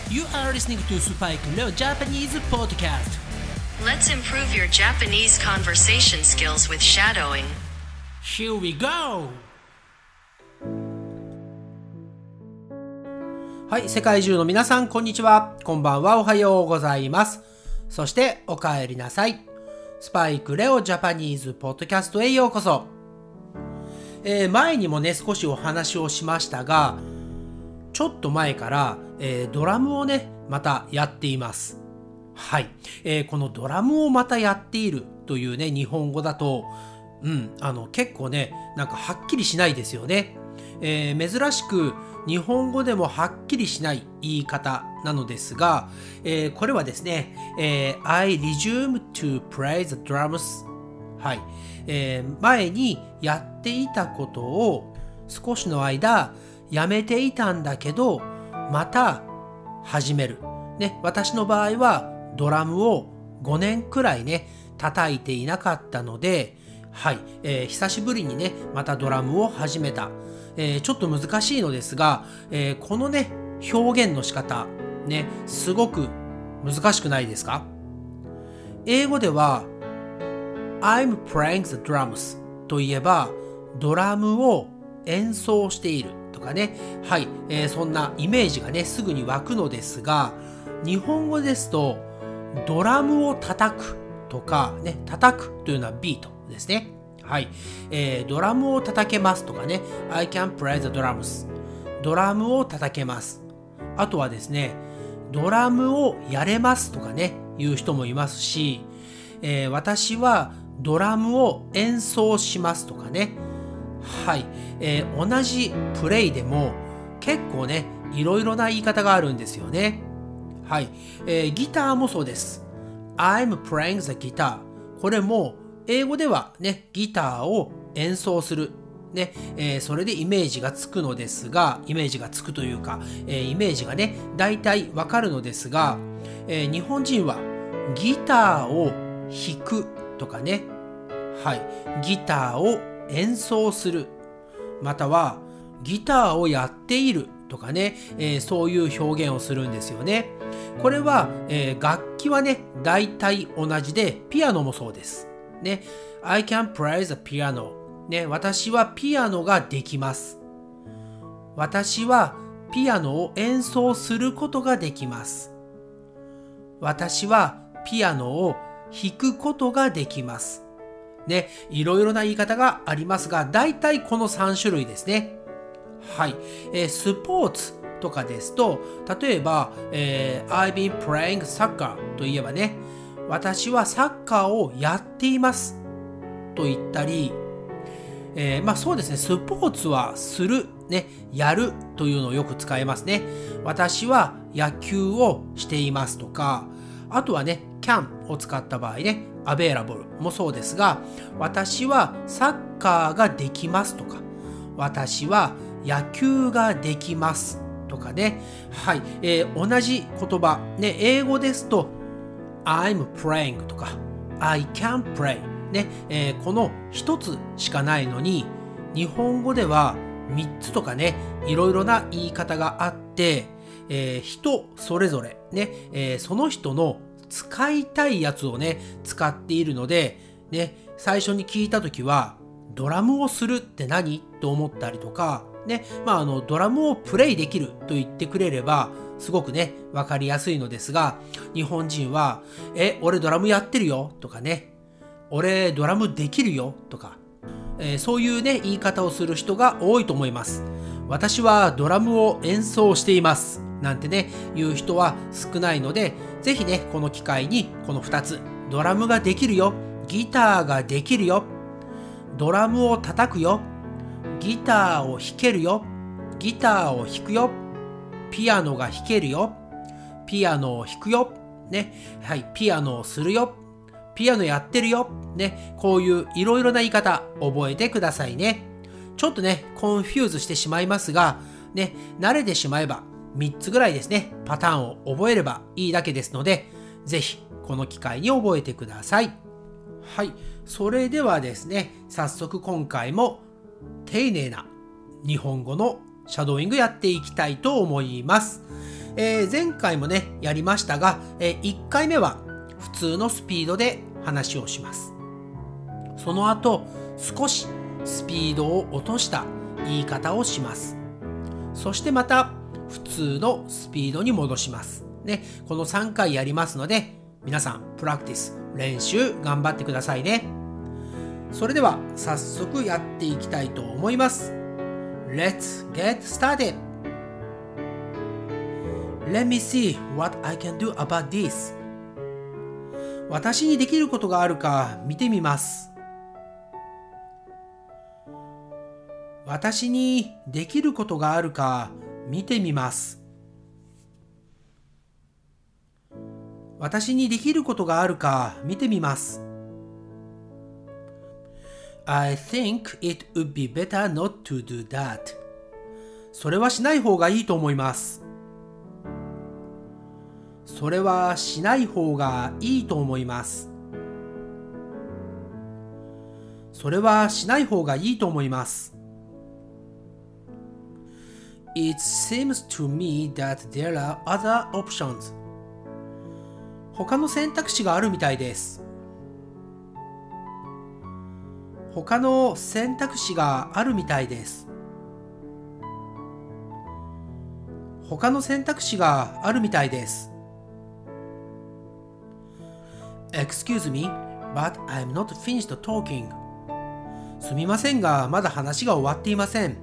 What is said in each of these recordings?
You are listening to Spike Leo Japanese Podcast. Let's improve your Japanese conversation skills with shadowing. Here we go! はい、世界中の皆さん、こんにちは。こんばんは、おはようございます。そして、お帰りなさい。スパイクレオジャパニーズポッドキャストへようこそ。前にもね、少しお話をしましたが、ちょっと前から、ドラムをね、またやっています。はい、このドラムをまたやっているというね、日本語だと、結構ね、なんかはっきりしないですよね。珍しく日本語でもはっきりしない言い方なのですが、これはですね、I resume to play the drums。はい、前にやっていたことを少しの間やめていたんだけど、また始める。ね、私の場合はドラムを5年くらいね、叩いていなかったので、はい、久しぶりにね、またドラムを始めた。ちょっと難しいのですが、このね、表現の仕方、ね、すごく難しくないですか？英語では、I'm playing the drums といえば、ドラムを演奏しているとかね、はい、そんなイメージがね、すぐに湧くのですが、日本語ですと、ドラムを叩くとか、ね、叩くというのはビートですね。はい、ドラムを叩けますとかね、I can play the drums。ドラムを叩けます。あとはですね、ドラムをやれますとかね、いう人もいますし、私はドラムを演奏しますとかね。はい、同じプレイでも結構ね、いろいろな言い方があるんですよね。はい、ギターもそうです。I'm playing the guitar。これも英語ではね、ギターを演奏する。ね、それでイメージがつくのですが、イメージがつくというか、イメージがね、大体わかるのですが、日本人はギターを弾くとかね、はい、ギターを演奏する。または、ギターをやっているとかね、そういう表現をするんですよね。これは、楽器はね、大体同じで、ピアノもそうです。ね、I can play the piano。ね、私はピアノができます。私はピアノを演奏することができます。私はピアノを弾くことができます。ね、いろいろな言い方がありますが、大体この3種類ですね。はい、スポーツとかですと、例えば、I've been playing soccer といえばね、私はサッカーをやっていますと言ったり、そうですね、スポーツはする、ね、やるというのをよく使いますね。私は野球をしていますとか、あとはね、can を使った場合ね、available もそうですが、私はサッカーができますとか、私は野球ができますとかね、はい、同じ言葉、ね、英語ですと、I'm playing とか I can play ね、この一つしかないのに、日本語では3つとかね、いろいろな言い方があって、人それぞれね、その人の使いたいやつをね、使っているので、ね、最初に聞いたときは、ドラムをするって何？と思ったりとか、ね、ドラムをプレイできると言ってくれれば、すごくね、わかりやすいのですが、日本人は、俺ドラムやってるよとかね、俺ドラムできるよとか、そういうね、言い方をする人が多いと思います。私はドラムを演奏しています。なんてね、言う人は少ないので、ぜひね、この機会にこの2つ、ドラムができるよ、ギターができるよ、ドラムを叩くよ、ギターを弾けるよ、ギターを弾くよ、ピアノが弾けるよ、ピアノを弾くよ、ね、はい、ピアノをするよ、ピアノやってるよ、ね、こういういろいろな言い方覚えてくださいね。ちょっとね、コンフューズしてしまいますが、ね、慣れてしまえば3つぐらいですね、パターンを覚えればいいだけですので、ぜひこの機会に覚えてください。はい、それではですね、早速今回も丁寧な日本語のシャドーイングやっていきたいと思います。 前回もね、やりましたが、1回目は普通のスピードで話をします。その後、少しスピードを落とした言い方をします。そしてまた普通のスピードに戻します。ね、この3回やりますので、皆さんプラクティス、練習頑張ってくださいね。それでは早速やっていきたいと思います。Let's get started! Let me see what I can do about this. 私にできることがあるか見てみます。私にできることがあるか見てみます。私にできることがあるか見てみます。I think it would be better not to do that. それはしない方がいいと思います。それはしない方がいいと思います。それはしない方がいいと思います。It seems to me that there are other options. 他の選択肢があるみたいです。他の選択肢があるみたいです。他の選択肢があるみたいです。Excuse me, but I'm not finished talking. すみませんが、まだ話が終わっていません。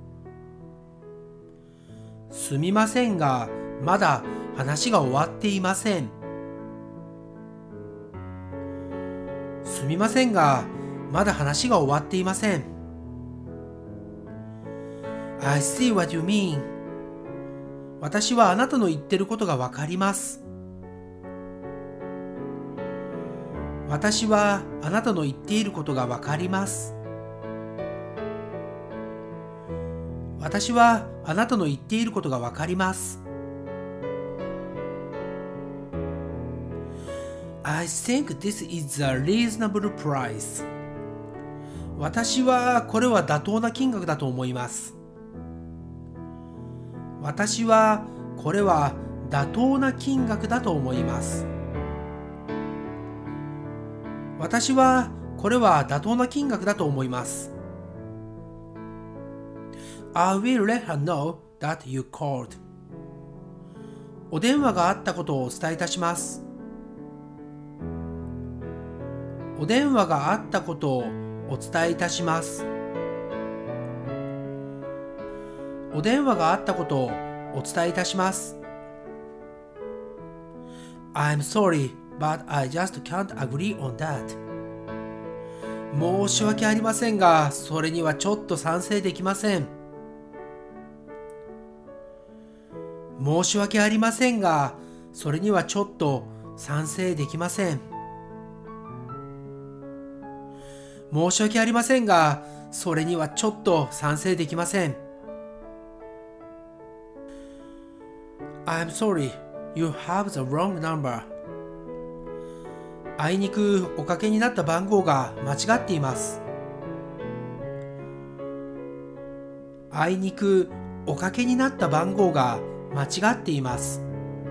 すみませんが、まだ話が終わっていません。すみませんが、まだ話が終わっていません。I see what you mean. 私はあなたの言ってることがわかります。私はあなたの言っていることがわかります。私はあなたの言っていることがわかります。I think this is a reasonable price. 私はこれは妥当な金額だと思います。私はこれは妥当な金額だと思います。私はこれは妥当な金額だと思います。I will let her know that you called. お電話があったことをお伝えいたします。お電話があったことをお伝えいたします。お電話があったことをお伝えいたします。I'm sorry, but I just can't agree on that. 申し訳ありませんが、それにはちょっと賛成できません。申し訳ありませんが、それにはちょっと賛成できません。申し訳ありませんが、それにはちょっと賛成できません。I'm sorry, you have the wrong number. あいにくおかけになった番号が間違っています。あいにくおかけになった番号が間違っています。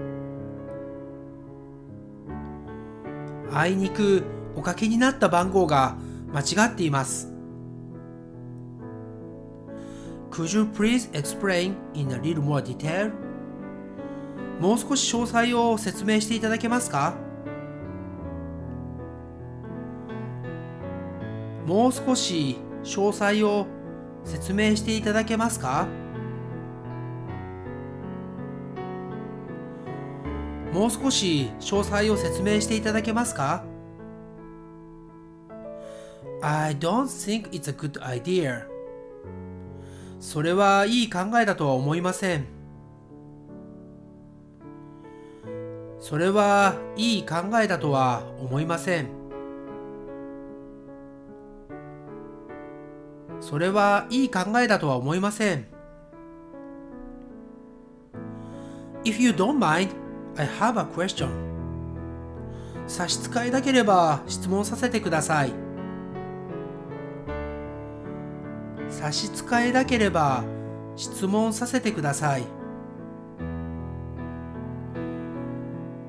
あいにくおかけになった番号が間違っています。Could you please explain in a little more detail? もう少し詳細を説明していただけますか？もう少し詳細を説明していただけますか？もう少し詳細を説明していただけますか？ I don't think it's a good idea. それはいい考えだとは思いません。それはいい考えだとは思いません。それはいい考えだとは思いません。If you don't mind, I have a question. 差し支えなければ質問させてください。差し支えなければ質問させてください。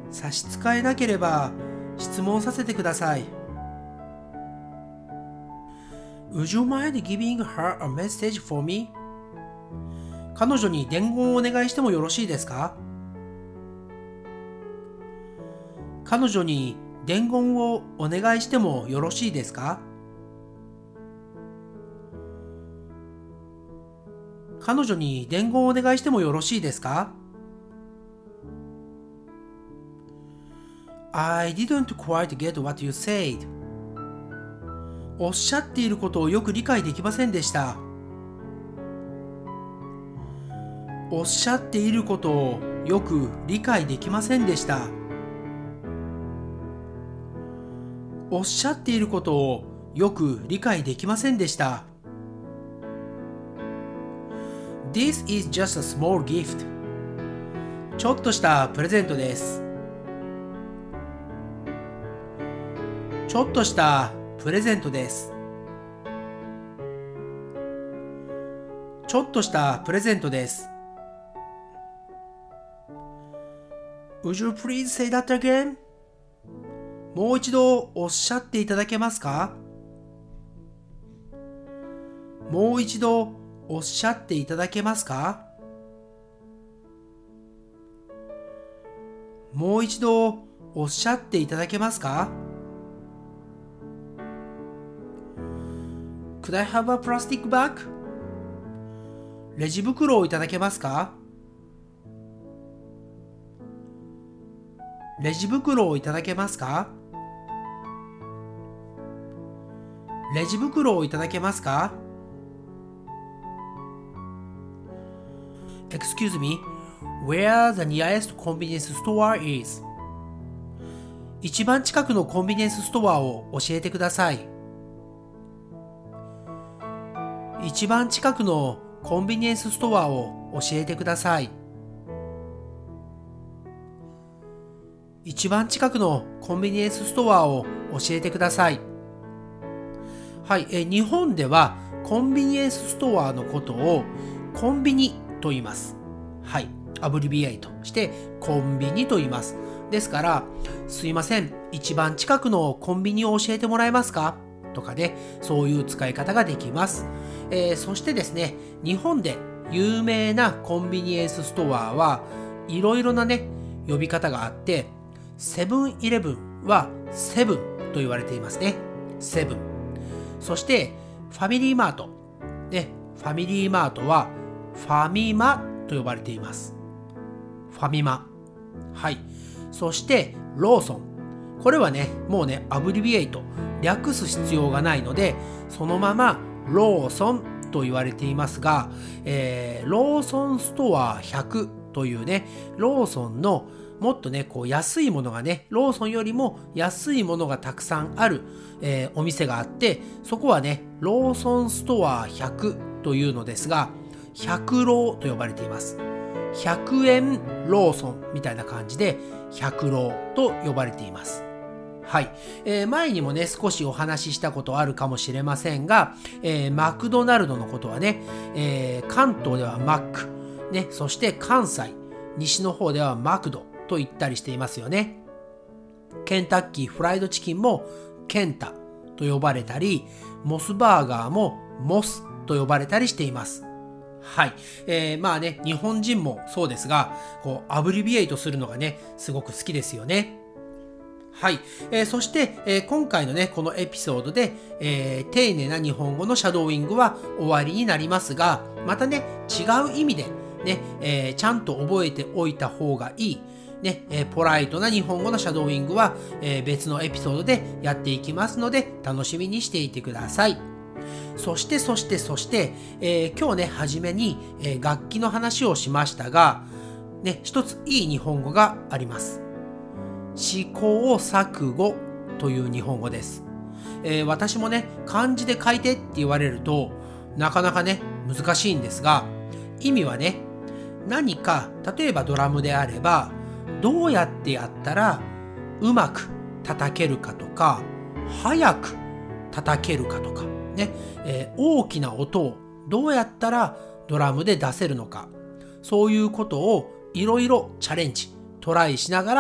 差し支えなければ質問させてください。Would you mind giving her a message for me? 彼女に伝言をお願いしてもよろしいですか？彼女に伝言をお願いしてもよろしいですか？彼女に伝言をお願いしてもよろしいですか？ I didn't quite get what you said. おっしゃっていることをよく理解できませんでした。おっしゃっていることをよく理解できませんでした。おっしゃっていることをよく理解できませんでした。This is just a small gift. ちょっとしたプレゼントです。ちょっとしたプレゼントです。ちょっとしたプレゼントです。Would you please say that again? もう一度おっしゃっていただけますか？もう一度おっしゃっていただけますか？もう一度おっしゃっていただけますか？ Could I have a plastic bag? レジ袋をいただけますか？レジ袋をいただけますか？レジ袋をいただけますか？ Excuse me, where the nearest convenience store is? 一番近くのコンビニエンスストアを教えてください。一番近くのコンビニエンスストアを教えてください。一番近くのコンビニエンスストアを教えてください。はい、日本ではコンビニエンスストアのことをコンビニと言います。はい、アブリビエイトしてコンビニと言います。ですから、すいません、一番近くのコンビニを教えてもらえますかとかね、そういう使い方ができます。そしてですね、日本で有名なコンビニエンスストアはいろいろなね、呼び方があって、セブンイレブンはセブンと言われていますね。セブン。そしてファミリーマート。ね、ファミリーマートはファミマと呼ばれています。ファミマ。はい。そしてローソン。これはね、もうね、アブリビエイト。略す必要がないので、そのままローソンと言われていますが、ローソンストア100というね、ローソンのもっとね、こう安いものがね、ローソンよりも安いものがたくさんある、お店があって、そこはね、ローソンストア100というのですが、100ローと呼ばれています。100円ローソンみたいな感じで、100ローと呼ばれています。はい、前にもね、少しお話ししたことあるかもしれませんが、マクドナルドのことはね、関東ではマック、ね、そして関西、西の方ではマクドと言ったりしていますよね。ケンタッキーフライドチキンもケンタと呼ばれたり、モスバーガーもモスと呼ばれたりしています。はい。まあね、日本人もそうですが、こう、アブリビエイトするのがね、すごく好きですよね。はい。そして、今回のね、このエピソードで、丁寧な日本語のシャドーイングは終わりになりますが、またね、違う意味でね、ちゃんと覚えておいた方がいい、ね、ポライトな日本語のシャドーイングは、別のエピソードでやっていきますので、楽しみにしていてください。そして、今日ね、初めに、楽器の話をしましたが、ね、一ついい日本語があります。試行錯誤という日本語です。私もね、漢字で書いてって言われると、なかなかね、難しいんですが、意味はね、何か、例えばドラムであれば、どうやってやったらうまく叩けるかとか、早く叩けるかとか、ね、大きな音をどうやったらドラムで出せるのか、そういうことをいろいろチャレンジ、トライしながら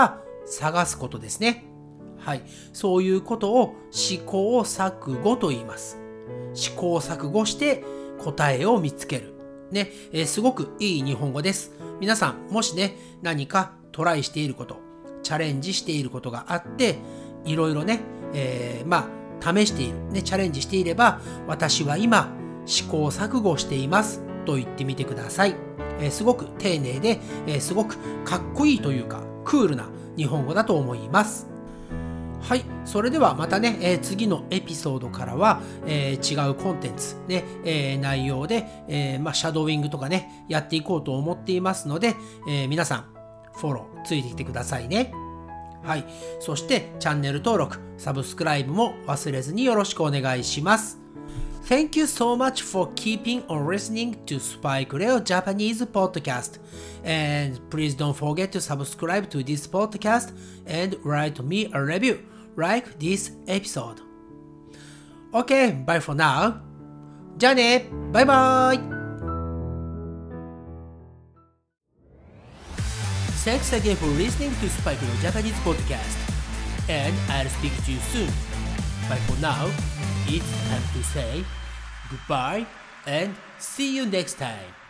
探すことですね。はい。そういうことを試行錯誤と言います。試行錯誤して答えを見つける。ね、すごくいい日本語です。皆さん、もしね、何かトライしていること、チャレンジしていることがあって、いろいろね、試している、ね、チャレンジしていれば、私は今、試行錯誤していますと言ってみてください。すごく丁寧で、すごくかっこいいというか、クールな日本語だと思います。はい。それではまたね、次のエピソードからは、違うコンテンツ、ね内容で、シャドーイングとかね、やっていこうと思っていますので、皆さん、フォローついてきてくださいね。はい。そして、チャンネル登録、サブスクライブも忘れずによろしくお願いします。Thank you so much for keeping on listening to Spike Leo Japanese podcast. And please don't forget to subscribe to this podcast and write me a review like this episode. Okay, bye for now. じゃあね、バイバイ。Thanks again for listening to Spike Leo Japanese podcast. And I'll speak to you soon. But for now, it's time to say goodbye and see you next time.